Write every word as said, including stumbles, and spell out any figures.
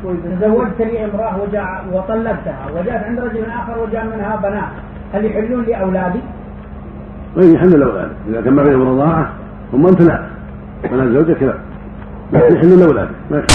تزوجت لي امرأة وجاء وطلقتها وجاءت عند رجل آخر وجاء منها بنات، هل يحلون لي أولادي؟ غير يحل الأولاد إذا كان ما بينهم رضاعة ثم أنت لا، بنات زوجك لا، لكن يحل الأولاد.